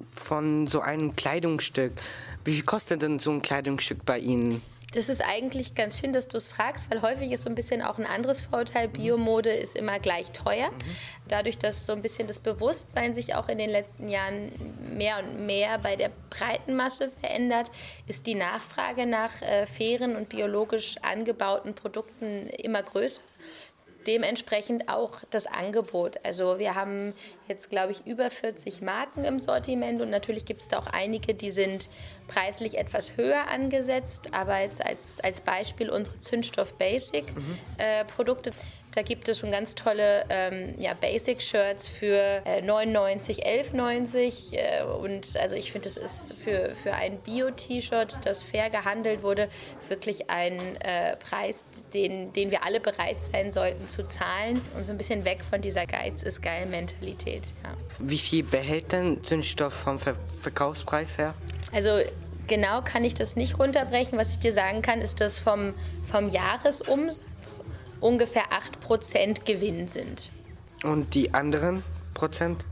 Von so einem Kleidungsstück, wie viel kostet denn so ein Kleidungsstück bei Ihnen? Das ist eigentlich ganz schön, dass du es fragst, weil häufig ist so ein bisschen auch ein anderes Vorurteil, Biomode ist immer gleich teuer. Dadurch, dass so ein bisschen das Bewusstsein sich auch in den letzten Jahren mehr und mehr bei der breiten Masse verändert, ist die Nachfrage nach äh, fairen und biologisch angebauten Produkten immer größer. Dementsprechend auch das Angebot. Also wir haben jetzt, glaube ich, über vierzig Marken im Sortiment und natürlich gibt es da auch einige, die sind preislich etwas höher angesetzt, aber jetzt als, als Beispiel unsere Zündstoff Basic mhm. äh, Produkte. Da gibt es schon ganz tolle ähm, ja, Basic-Shirts für äh, neunundneunzig, elf neunzig äh, und also ich finde, das ist für, für ein Bio-T-Shirt, das fair gehandelt wurde, wirklich ein äh, Preis, den, den wir alle bereit sein sollten zu zahlen und so ein bisschen weg von dieser Geiz-ist-geil-Mentalität. Ja. Wie viel behält denn Zündstoff vom Ver- Verkaufspreis her? Also genau kann ich das nicht runterbrechen. Was ich dir sagen kann, ist, dass vom, vom Jahresumsatz ungefähr acht Prozent Gewinn sind. Und die anderen Prozent?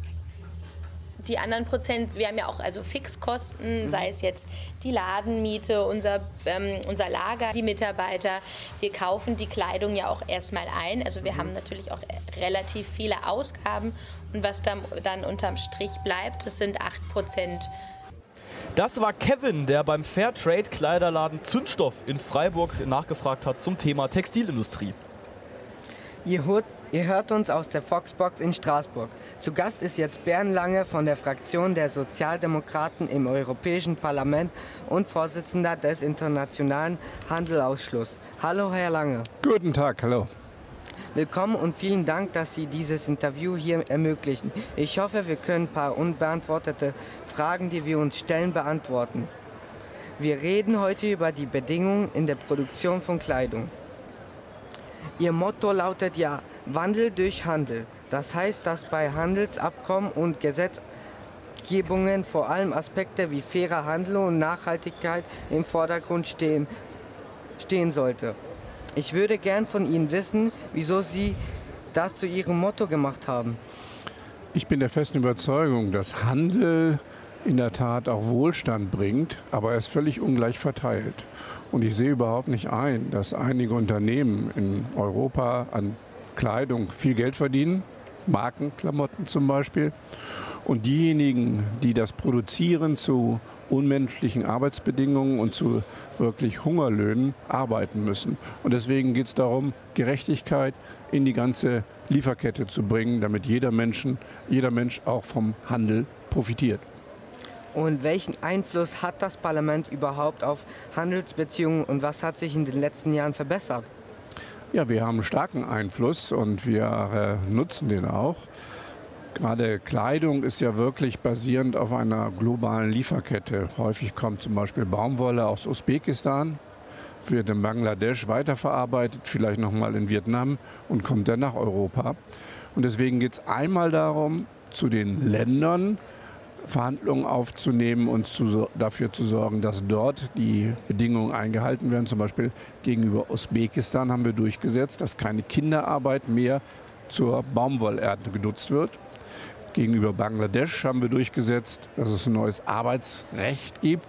Die anderen Prozent, wir haben ja auch also Fixkosten, mhm. sei es jetzt die Ladenmiete, unser, ähm, unser Lager, die Mitarbeiter. Wir kaufen die Kleidung ja auch erstmal ein. Also wir mhm. haben natürlich auch relativ viele Ausgaben. Und was dann, dann unterm Strich bleibt, das sind acht Prozent. Das war Kevin, der beim Fairtrade-Kleiderladen Zündstoff in Freiburg nachgefragt hat zum Thema Textilindustrie. Ihr hört, ihr hört uns aus der Foxbox in Straßburg. Zu Gast ist jetzt Bernd Lange von der Fraktion der Sozialdemokraten im Europäischen Parlament und Vorsitzender des Internationalen Handelausschusses. Hallo, Herr Lange. Guten Tag, hallo. Willkommen und vielen Dank, dass Sie dieses Interview hier ermöglichen. Ich hoffe, wir können ein paar unbeantwortete Fragen, die wir uns stellen, beantworten. Wir reden heute über die Bedingungen in der Produktion von Kleidung. Ihr Motto lautet ja Wandel durch Handel. Das heißt, dass bei Handelsabkommen und Gesetzgebungen vor allem Aspekte wie fairer Handel und Nachhaltigkeit im Vordergrund stehen, stehen sollte. Ich würde gern von Ihnen wissen, wieso Sie das zu Ihrem Motto gemacht haben. Ich bin der festen Überzeugung, dass Handel in der Tat auch Wohlstand bringt, aber er ist völlig ungleich verteilt. Und ich sehe überhaupt nicht ein, dass einige Unternehmen in Europa an Kleidung viel Geld verdienen, Markenklamotten zum Beispiel, und diejenigen, die das produzieren, zu unmenschlichen Arbeitsbedingungen und zu wirklich Hungerlöhnen arbeiten müssen. Und deswegen geht es darum, Gerechtigkeit in die ganze Lieferkette zu bringen, damit jeder, Menschen, jeder Mensch auch vom Handel profitiert. Und welchen Einfluss hat das Parlament überhaupt auf Handelsbeziehungen und was hat sich in den letzten Jahren verbessert? Ja, wir haben einen starken Einfluss und wir äh, nutzen den auch. Gerade Kleidung ist ja wirklich basierend auf einer globalen Lieferkette. Häufig kommt zum Beispiel Baumwolle aus Usbekistan, wird in Bangladesch weiterverarbeitet, vielleicht nochmal in Vietnam und kommt dann nach Europa. Und deswegen geht es einmal darum, zu den Ländern Verhandlungen aufzunehmen und zu, dafür zu sorgen, dass dort die Bedingungen eingehalten werden. Zum Beispiel gegenüber Usbekistan haben wir durchgesetzt, dass keine Kinderarbeit mehr zur Baumwollernte genutzt wird. Gegenüber Bangladesch haben wir durchgesetzt, dass es ein neues Arbeitsrecht gibt,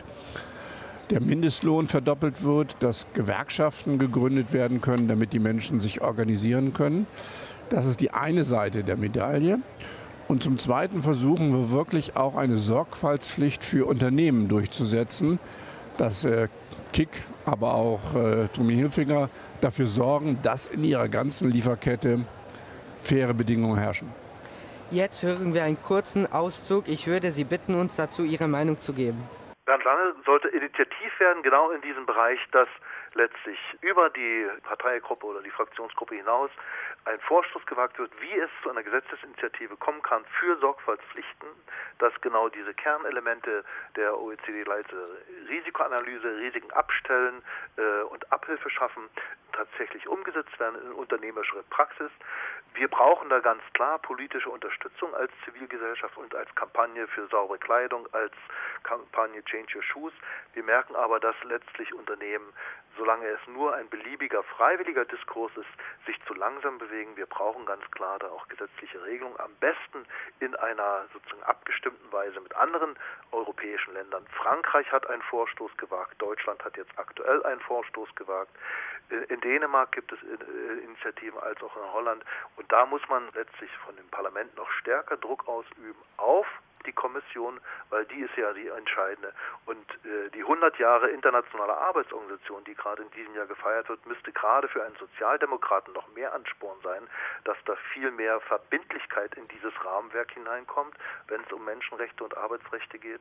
der Mindestlohn verdoppelt wird, dass Gewerkschaften gegründet werden können, damit die Menschen sich organisieren können. Das ist die eine Seite der Medaille. Und zum Zweiten versuchen wir wirklich auch eine Sorgfaltspflicht für Unternehmen durchzusetzen, dass äh, Kick, aber auch äh, Tommy Hilfiger dafür sorgen, dass in ihrer ganzen Lieferkette faire Bedingungen herrschen. Jetzt hören wir einen kurzen Auszug. Ich würde Sie bitten, uns dazu Ihre Meinung zu geben. Bernd Lange sollte initiativ werden, genau in diesem Bereich, dass letztlich über die Parteigruppe oder die Fraktionsgruppe hinaus ein Vorstoß gewagt wird, wie es zu einer Gesetzesinitiative kommen kann für Sorgfaltspflichten, dass genau diese Kernelemente der O E C D-Leite Risikoanalyse, Risiken abstellen äh, und Abhilfe schaffen, tatsächlich umgesetzt werden in unternehmerische Praxis. Wir brauchen da ganz klar politische Unterstützung als Zivilgesellschaft und als Kampagne für saubere Kleidung, als Kampagne Change Your Shoes. Wir merken aber, dass letztlich Unternehmen, solange es nur ein beliebiger, freiwilliger Diskurs ist, sich zu langsam bewegen. Wir brauchen ganz klar da auch gesetzliche Regelungen, am besten in einer sozusagen abgestimmten Weise mit anderen europäischen Ländern. Frankreich hat einen Vorstoß gewagt, Deutschland hat jetzt aktuell einen Vorstoß gewagt. In Dänemark gibt es Initiativen als auch in Holland. Und da muss man letztlich von dem Parlament noch stärker Druck ausüben auf die Kommission, weil die ist ja die entscheidende. Und äh, die hundert Jahre internationale Arbeitsorganisation, die gerade in diesem Jahr gefeiert wird, müsste gerade für einen Sozialdemokraten noch mehr Ansporn sein, dass da viel mehr Verbindlichkeit in dieses Rahmenwerk hineinkommt, wenn es um Menschenrechte und Arbeitsrechte geht.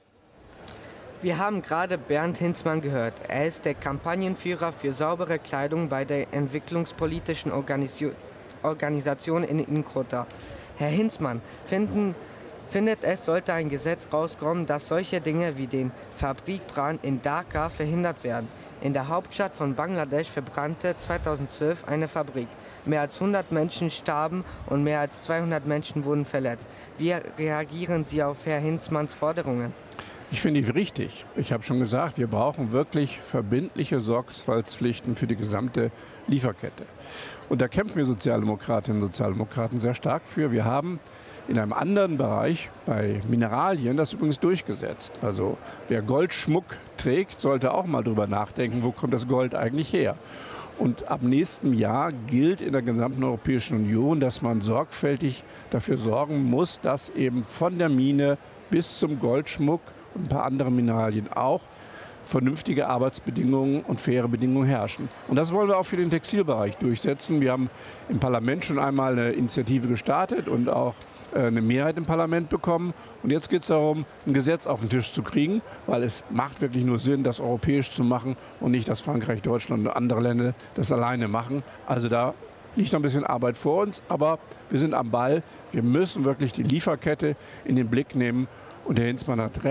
Wir haben gerade Bernd Hinzmann gehört. Er ist der Kampagnenführer für saubere Kleidung bei der entwicklungspolitischen Organisio- Organisation in Inkota. Herr Hinzmann, finden, findet es, sollte ein Gesetz rauskommen, dass solche Dinge wie den Fabrikbrand in Dhaka verhindert werden. In der Hauptstadt von Bangladesch verbrannte zweitausendzwölf eine Fabrik. Mehr als hundert Menschen starben und mehr als zweihundert Menschen wurden verletzt. Wie reagieren Sie auf Herrn Hinzmanns Forderungen? Ich finde die richtig. Ich habe schon gesagt, wir brauchen wirklich verbindliche Sorgfaltspflichten für die gesamte Lieferkette. Und da kämpfen wir Sozialdemokratinnen und Sozialdemokraten sehr stark für. Wir haben in einem anderen Bereich, bei Mineralien, das übrigens durchgesetzt. Also wer Goldschmuck trägt, sollte auch mal drüber nachdenken, wo kommt das Gold eigentlich her. Und ab nächstem Jahr gilt in der gesamten Europäischen Union, dass man sorgfältig dafür sorgen muss, dass eben von der Mine bis zum Goldschmuck und ein paar andere Mineralien auch vernünftige Arbeitsbedingungen und faire Bedingungen herrschen. Und das wollen wir auch für den Textilbereich durchsetzen. Wir haben im Parlament schon einmal eine Initiative gestartet und auch eine Mehrheit im Parlament bekommen. Und jetzt geht es darum, ein Gesetz auf den Tisch zu kriegen, weil es macht wirklich nur Sinn, das europäisch zu machen und nicht, dass Frankreich, Deutschland und andere Länder das alleine machen. Also da liegt noch ein bisschen Arbeit vor uns, aber wir sind am Ball. Wir müssen wirklich die Lieferkette in den Blick nehmen. Und Herr Hinzmann hat recht,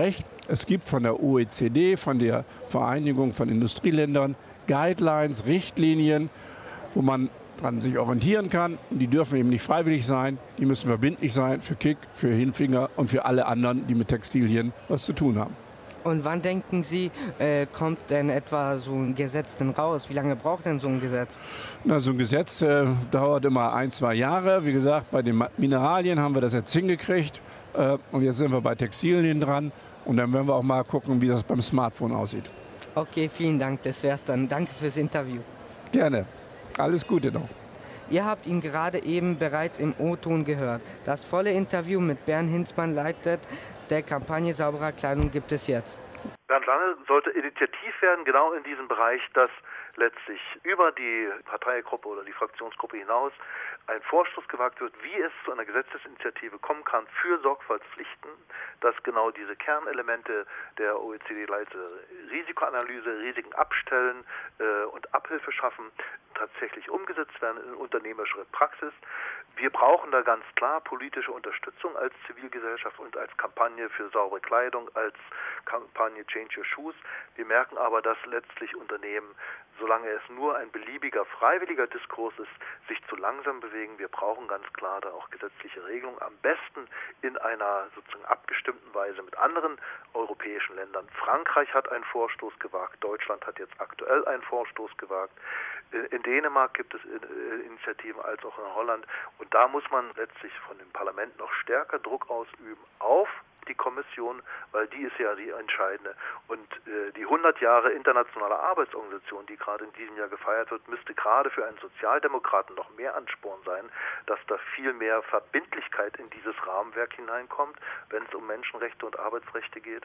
Es gibt von der O E C D, von der Vereinigung von Industrieländern, Guidelines, Richtlinien, wo man dran sich orientieren kann. Die dürfen eben nicht freiwillig sein, die müssen verbindlich sein für Kick, für Hinfinger und für alle anderen, die mit Textilien was zu tun haben. Und wann denken Sie, äh, kommt denn etwa so ein Gesetz denn raus? Wie lange braucht denn so ein Gesetz? Na, so ein Gesetz äh, dauert immer ein, zwei Jahre. Wie gesagt, bei den Mineralien haben wir das jetzt hingekriegt. Äh, und jetzt sind wir bei Textilien dran. Und dann werden wir auch mal gucken, wie das beim Smartphone aussieht. Okay, vielen Dank. Das wär's dann. Danke fürs Interview. Gerne. Alles Gute noch. Ihr habt ihn gerade eben bereits im O-Ton gehört. Das volle Interview mit Bernd Hinzmann leitet der Kampagne Sauberer Kleidung gibt es jetzt. Bernd Lange sollte initiativ werden, genau in diesem Bereich, dass letztlich über die Parteigruppe oder die Fraktionsgruppe hinaus ein Vorstoß gewagt wird, wie es zu einer Gesetzesinitiative kommen kann für Sorgfaltspflichten, dass genau diese Kernelemente der O E C D-Leite Risikoanalyse, Risiken abstellen äh, und Abhilfe schaffen, tatsächlich umgesetzt werden in unternehmerischer Praxis. Wir brauchen da ganz klar politische Unterstützung als Zivilgesellschaft und als Kampagne für saubere Kleidung, als Kampagne Change Your Shoes. Wir merken aber, dass letztlich Unternehmen, solange es nur ein beliebiger, freiwilliger Diskurs ist, sich zu langsam bewegen. Wir brauchen ganz klar da auch gesetzliche Regelungen, am besten in einer sozusagen abgestimmten Weise mit anderen europäischen Ländern. Frankreich hat einen Vorstoß gewagt, Deutschland hat jetzt aktuell einen Vorstoß gewagt. In Dänemark gibt es Initiativen als auch in Holland. Und da muss man letztlich von dem Parlament noch stärker Druck ausüben auf die Kommission, weil die ist ja die entscheidende. Und äh, die hundert Jahre internationale Arbeitsorganisation, die gerade in diesem Jahr gefeiert wird, müsste gerade für einen Sozialdemokraten noch mehr Ansporn sein, dass da viel mehr Verbindlichkeit in dieses Rahmenwerk hineinkommt, wenn es um Menschenrechte und Arbeitsrechte geht.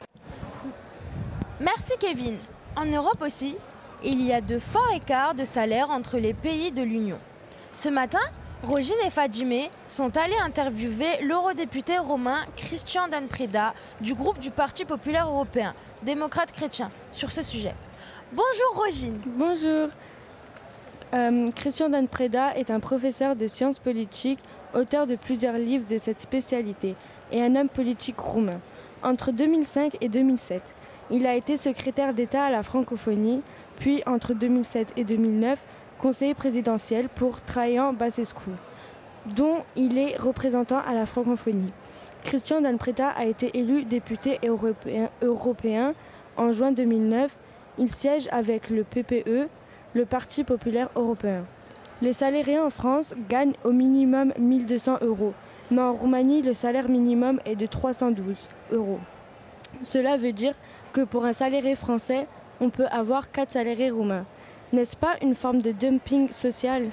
Merci Kevin. En Europe aussi, il y a de forts écarts de salaire entre les pays de l'Union. Ce matin, Rogine et Fadjime sont allés interviewer l'eurodéputé romain Christian Dan Preda du groupe du Parti populaire européen, démocrate chrétien, sur ce sujet. Bonjour Rogine. Bonjour. Euh, Christian Dan Preda est un professeur de sciences politiques, auteur de plusieurs livres de cette spécialité, et un homme politique roumain. Entre deux mille cinq et deux mille sept, il a été secrétaire d'État à la francophonie, puis entre deux mille sept et deux mille neuf, conseiller présidentiel pour Traian Băsescu, dont il est représentant à la francophonie. Christian Dan Preda a été élu député européen, européen en juin deux mille neuf. Il siège avec le P P E, le Parti populaire européen. Les salariés en France gagnent au minimum mille deux cents euros, mais en Roumanie, le salaire minimum est de trois cent douze euros. Cela veut dire que pour un salarié français, on peut avoir quatre salariés roumains. N'est-ce pas une forme de dumping social?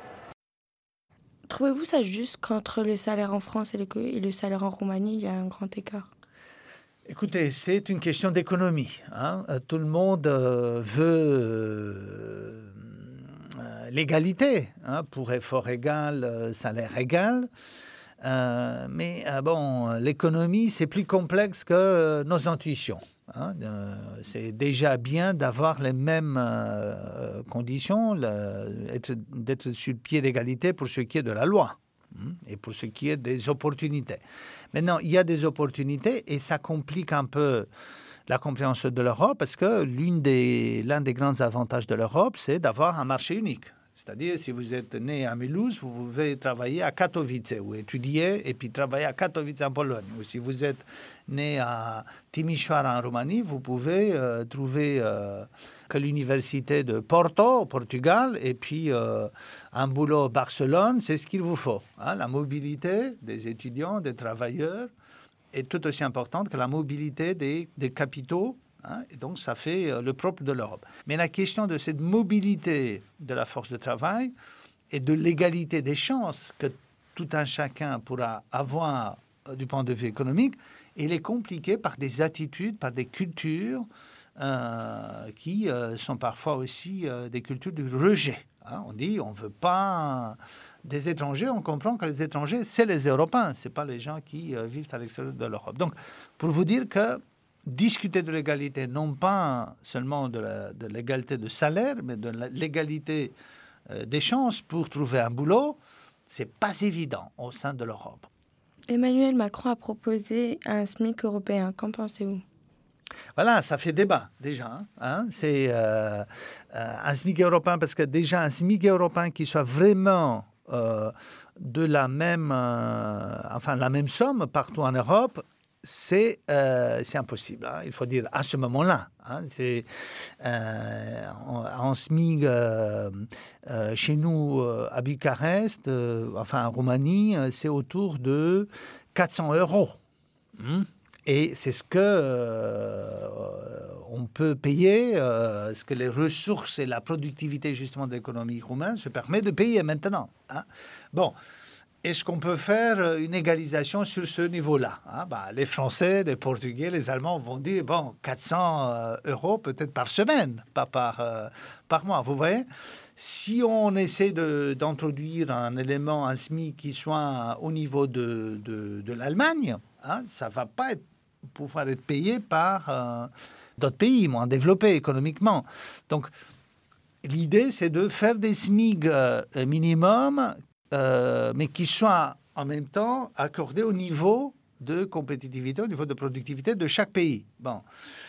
Trouvez-vous ça juste qu'entre le salaire en France et le, et le salaire en Roumanie, il y a un grand écart? Écoutez, c'est une question d'économie. Hein. Tout le monde euh, veut euh, l'égalité, hein, pour effort égal, euh, salaire égal. Euh, mais euh, bon, l'économie, c'est plus complexe que euh, nos intuitions. Hein, euh, c'est déjà bien d'avoir les mêmes euh, conditions, le, être, d'être sur le pied d'égalité pour ce qui est de la loi hein, et pour ce qui est des opportunités. Maintenant, il y a des opportunités et ça complique un peu la compréhension de l'Europe parce que l'une des, l'un des grands avantages de l'Europe, c'est d'avoir un marché unique. C'est-à-dire, si vous êtes né à Mulhouse, vous pouvez travailler à Katowice ou étudier et puis travailler à Katowice en Pologne. Ou si vous êtes né à Timișoara en Roumanie, vous pouvez euh, trouver euh, que l'université de Porto au Portugal et puis euh, un boulot à Barcelone, c'est ce qu'il vous faut. Hein, la mobilité des étudiants, des travailleurs est tout aussi importante que la mobilité des, des capitaux. Hein, et donc, ça fait euh, le propre de l'Europe. Mais la question de cette mobilité de la force de travail et de l'égalité des chances que tout un chacun pourra avoir euh, du point de vue économique, elle est compliquée par des attitudes, par des cultures euh, qui euh, sont parfois aussi euh, des cultures du rejet. Hein, on dit on ne veut pas des étrangers, on comprend que les étrangers, c'est les Européens, ce n'est pas les gens qui euh, vivent à l'extérieur de l'Europe. Donc, pour vous dire que discuter de l'égalité, non pas seulement de, la, de l'égalité de salaire, mais de la, l'égalité euh, des chances pour trouver un boulot, c'est pas évident au sein de l'Europe. Emmanuel Macron a proposé un SMIC européen. Qu'en pensez-vous? Voilà, ça fait débat déjà. Hein. C'est euh, euh, un SMIC européen, parce que déjà un SMIC européen qui soit vraiment euh, de la même, euh, enfin, la même somme partout en Europe, c'est, euh, c'est impossible. Hein. Il faut dire à ce moment-là. Hein. C'est euh, en SMIC euh, euh, chez nous euh, à Bucarest, euh, enfin en Roumanie, c'est autour de quatre cents euros. Hum. Et c'est ce que euh, on peut payer, euh, ce que les ressources et la productivité justement de l'économie roumaine se permet de payer maintenant. Hein. Bon, est-ce qu'on peut faire une égalisation sur ce niveau-là, hein? Bah, les Français, les Portugais, les Allemands vont dire, bon, quatre cents euros peut-être par semaine, pas par, euh, par mois, vous voyez. Si on essaie de, d'introduire un élément, un SMIC qui soit au niveau de, de, de l'Allemagne, hein, ça ne va pas être, pouvoir être payé par euh, d'autres pays moins développés économiquement. Donc, l'idée, c'est de faire des SMIC euh, minimum, euh, mais qui soient en même temps accordés au niveau de compétitivité, au niveau de productivité de chaque pays. Bon.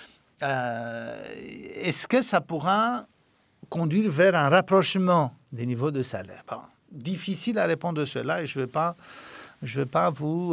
Euh, est-ce que ça pourra conduire vers un rapprochement des niveaux de salaire? Bon. Difficile à répondre à cela et je ne vais pas... Je ne vais pas vous...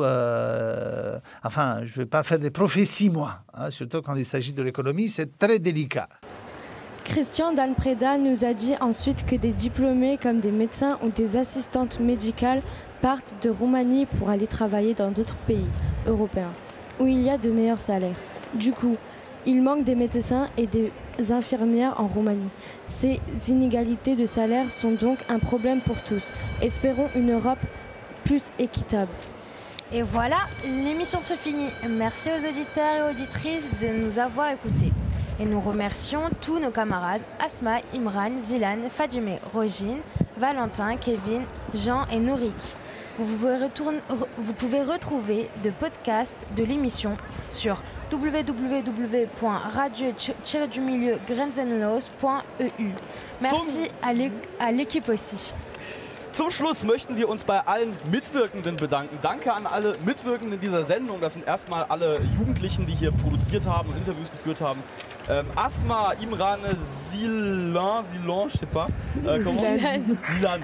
Euh, enfin, je ne vais pas faire des prophéties, moi. Hein, surtout quand il s'agit de l'économie, c'est très délicat. Christian Dan Preda nous a dit ensuite que des diplômés comme des médecins ou des assistantes médicales partent de Roumanie pour aller travailler dans d'autres pays européens, où il y a de meilleurs salaires. Du coup, il manque des médecins et des infirmières en Roumanie. Ces inégalités de salaire sont donc un problème pour tous. Espérons une Europe plus équitable. Et voilà, l'émission se finit. Merci aux auditeurs et auditrices de nous avoir écoutés. Et nous remercions tous nos camarades Asma, Imran, Zilan, Fadime, Rogine, Valentin, Kevin, Jean et Nourik. Vous pouvez, retourner, vous pouvez retrouver de podcasts de l'émission sur w w w point radio tiret du milieu grenzenlos point e u. Merci à l'équipe aussi. Zum Schluss möchten wir uns bei allen Mitwirkenden bedanken. Danke an alle Mitwirkenden dieser Sendung. Das sind erstmal alle Jugendlichen, die hier produziert haben und Interviews geführt haben. Ähm, Asma, Imran, Zilan, Zilan, je sais pas. Äh, Zilan. Zilan.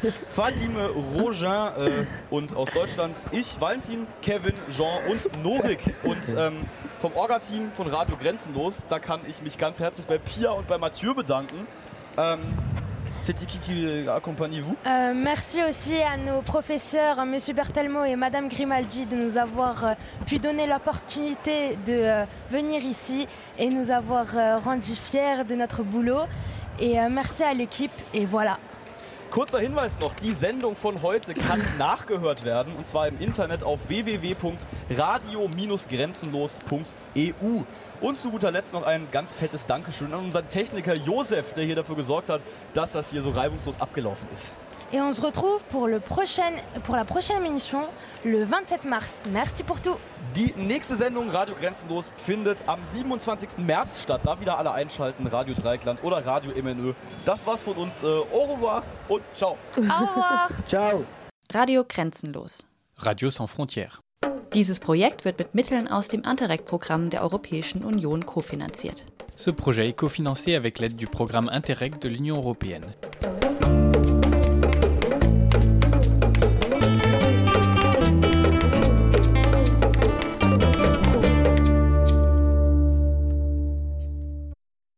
Fadime, Rogin äh, und aus Deutschland ich, Valentin, Kevin, Jean und Norik. Und ähm, vom Orga-Team von Radio Grenzenlos, da kann ich mich ganz herzlich bei Pia und bei Mathieu bedanken. Ähm, C'est qui qui accompagne vous? euh, Merci aussi à nos professeurs, M. Bertelmo et Mme Grimaldi, de nous avoir euh, pu donner l'opportunité de euh, venir ici et nous avoir euh, rendu fiers de notre boulot. Et euh, merci à l'équipe et voilà. Kurzer Hinweis noch, die Sendung von heute kann nachgehört werden und zwar im Internet auf w w w punkt radio grenzenlos punkt e u. Und zu guter Letzt noch ein ganz fettes Dankeschön an unseren Techniker Josef, der hier dafür gesorgt hat, dass das hier so reibungslos abgelaufen ist. Et on se retrouve pour, le prochain, pour la prochaine émission le vingt-sept mars. Merci pour tout. Die nächste Sendung Radio Grenzenlos findet am siebenundzwanzigsten März statt. Da wieder alle einschalten, Radio Dreieckland oder Radio M N Ö. Das war's von uns. Au revoir und ciao. Au revoir. Ciao. Radio Grenzenlos. Radio sans frontières. Dieses Projekt wird mit Mitteln aus dem Interreg-Programm der Europäischen Union kofinanziert. Ce projet est cofinancé avec l'aide du programme Interreg de l'Union européenne.